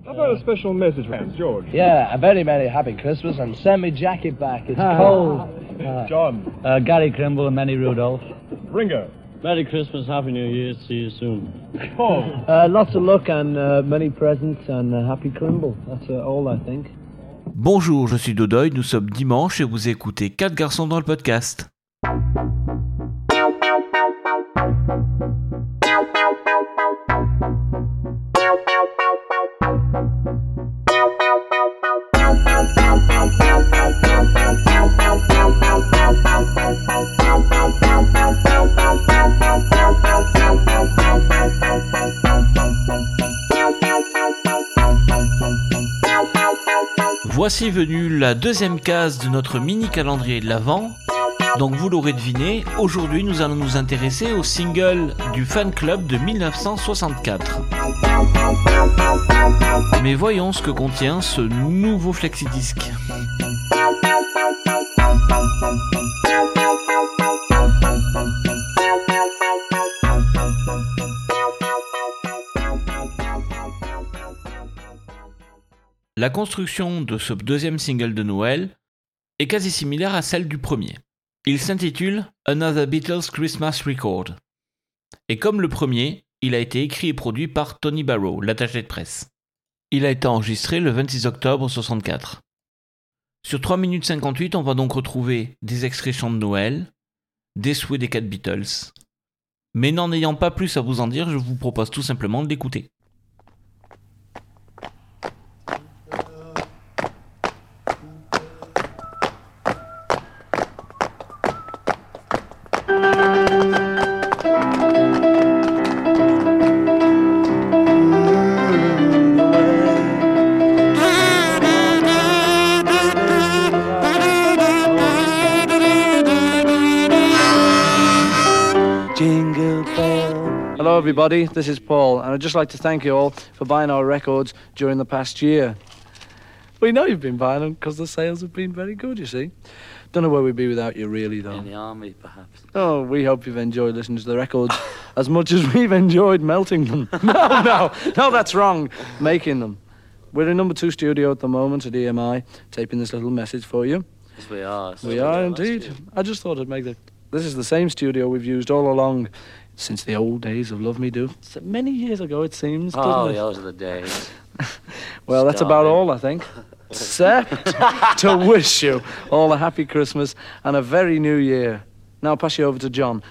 How about a special message from George? Yeah, a very, very happy Christmas and send me jacket back. It's cold. John. Gary Crimble and Manny Rudolph. Ringo. Merry Christmas, Happy New Year, see you soon. Paul. Lots of luck and many presents and happy Crimble. That's all I think. Bonjour, je suis Dodoy, nous sommes dimanche et vous écoutez 4 garçons dans le podcast. Voici venue la deuxième case de notre mini-calendrier de l'Avent. Donc vous l'aurez deviné, aujourd'hui nous allons nous intéresser au single du fan club de 1964. Mais voyons ce que contient ce nouveau flexi-disque. La construction de ce deuxième single de Noël est quasi similaire à celle du premier. Il s'intitule Another Beatles Christmas Record. Et comme le premier, il a été écrit et produit par Tony Barrow, l'attaché de presse. Il a été enregistré le 26 octobre 1964. Sur 3 minutes 58, on va donc retrouver des extraits chants de Noël, des souhaits des 4 Beatles. Mais n'en ayant pas plus à vous en dire, je vous propose tout simplement de l'écouter. Hello everybody, this is Paul, and I'd just like to thank you all for buying our records during the past year. We know you've been buying them because the sales have been very good, you see. Don't know where we'd be without you really, though. In the army, perhaps. Oh, we hope you've enjoyed listening to the records as much as we've enjoyed melting them. No, that's wrong. Making them. We're in number 2 studio at the moment at EMI, taping this little message for you. Yes, we are. We are indeed. I just thought I'd make the... This is the same studio we've used all along since the old days of Love Me Do. So many years ago, it seems, doesn't it? Those are the days. Well, that's about all, I think. Except to wish you all a happy Christmas and a very new year. Now I'll pass you over to John.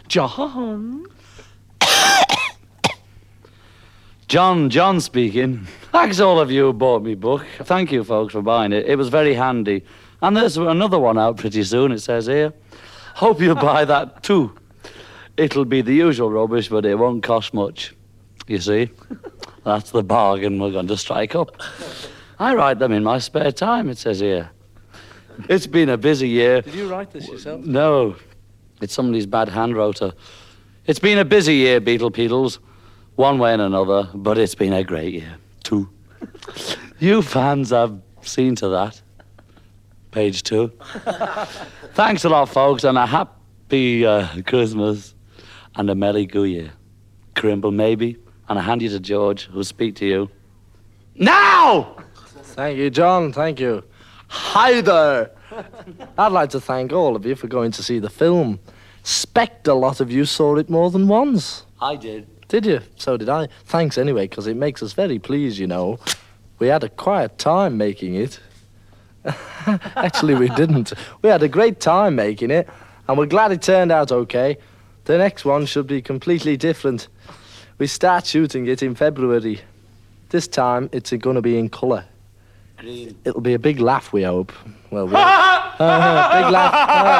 John speaking. Thanks all of you who bought me book. Thank you, folks, for buying it. It was very handy. And there's another one out pretty soon, it says here. Hope you buy that too. It'll be the usual rubbish, but it won't cost much. You see? That's the bargain we're going to strike up. I write them in my spare time, it says here. It's been a busy year. Did you write this yourself? No. It's somebody's bad hand rotor. It's been a busy year, Beatles, one way and another, but it's been a great year, too. You fans have seen to that. Page 2. Thanks a lot, folks, and a happy Christmas and a Merry Go Year. Crimble, maybe, and I hand you to George, who'll speak to you. Now! Thank you, John. Thank you. Hi there. I'd like to thank all of you for going to see the film. Expect a lot of you saw it more than once. I did. Did you? So did I. Thanks anyway, because it makes us very pleased, you know. We had a quiet time making it. Actually, we didn't. We had a great time making it, and we're glad it turned out okay. The next one should be completely different. We start shooting it in February. This time, it's going to be in colour. Green. It'll be a big laugh, we hope. Well, big laugh.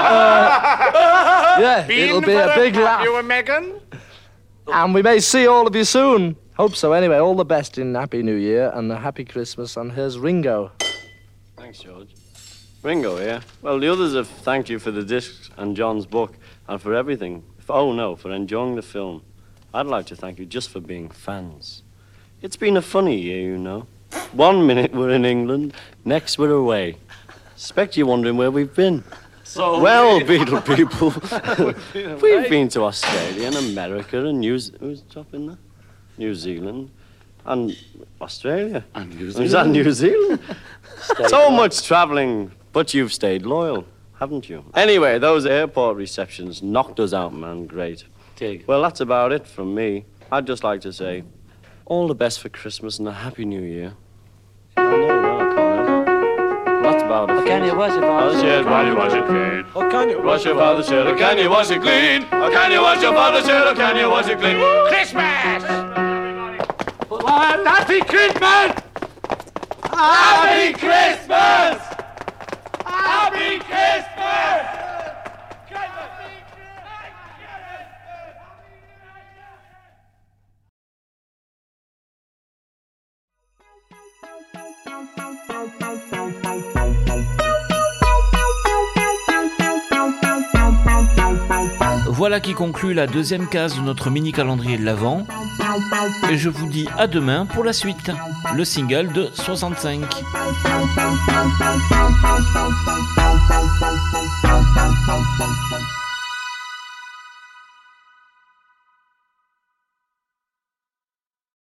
Yeah, it'll be a big laugh. You and Megan? And we may see all of you soon. Hope so. Anyway, all the best in Happy New Year and a Happy Christmas. And here's Ringo. Thanks, George. Ringo, yeah? Well, the others have thanked you for the discs and John's book and for everything. For enjoying the film. I'd like to thank you just for being fans. It's been a funny year, you know. 1 minute we're in England, next we're away. Expect you're wondering where we've been. So well, Beatle people, we've been to Australia and America and Who's dropping that? New Zealand. And Australia. And New Is that Zealand. New Zealand? Stay So on. much travelling, but you've stayed loyal, haven't you? Anyway, those airport receptions knocked us out, man. Great. Dig. Well, that's about it from me. I'd just like to say all the best for Christmas and a Happy New Year. I know, well, I can't. That's about it. Can you wash your father's shirt while you wash it clean? Oh, can you Wash your father's shirt, or can you wash it clean? Or can you wash your father's shirt, or can you wash it clean? Christmas! Well, happy Christmas! Happy Christmas! Happy Christmas! Voilà qui conclut la deuxième case de notre mini calendrier de l'Avent. Et je vous dis à demain pour la suite, le single de 65.